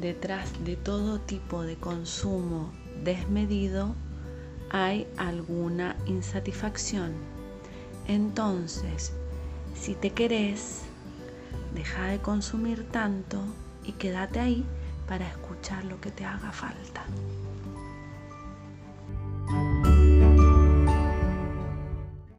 detrás de todo tipo de consumo desmedido hay alguna insatisfacción. Entonces, si te querés, deja de consumir tanto y quédate ahí para escuchar lo que te haga falta.